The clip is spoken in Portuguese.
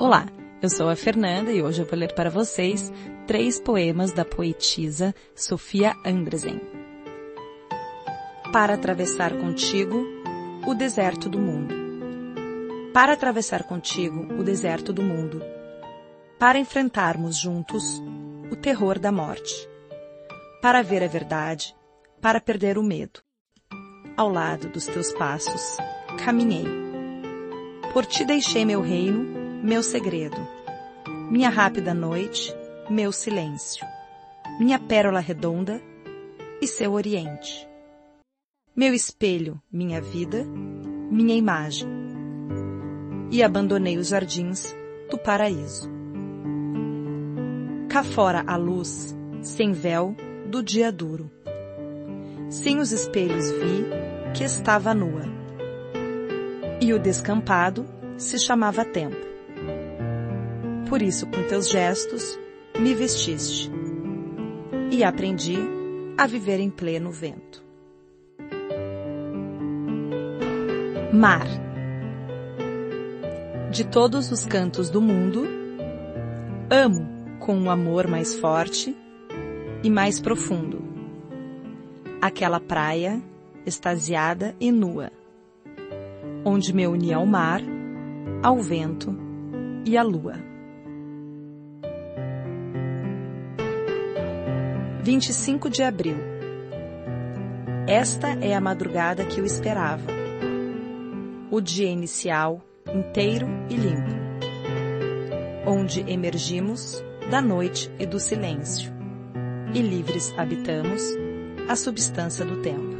Olá, eu sou a Fernanda e hoje eu vou ler para vocês 3 poemas da poetisa Sofia Andresen. Para atravessar contigo o deserto do mundo. Para atravessar contigo o deserto do mundo. Para enfrentarmos juntos o terror da morte. Para ver a verdade, para perder o medo. Ao lado dos teus passos, caminhei. Por ti deixei meu reino, meu segredo. Minha rápida noite, meu silêncio. Minha pérola redonda e seu oriente. Meu espelho, minha vida, minha imagem. E abandonei os jardins do paraíso. Cá fora a luz, sem véu, do dia duro. Sem os espelhos vi que estava nua. E o descampado se chamava tempo. Por isso, com teus gestos, me vestiste. E aprendi a viver em pleno vento. Mar. De todos os cantos do mundo, amo com um amor mais forte e mais profundo aquela praia extasiada e nua, onde me uni ao mar, ao vento e à lua. 25 de abril. Esta é a madrugada que eu esperava. O dia inicial, inteiro e limpo, onde emergimos da noite e do silêncio, e livres habitamos a substância do tempo.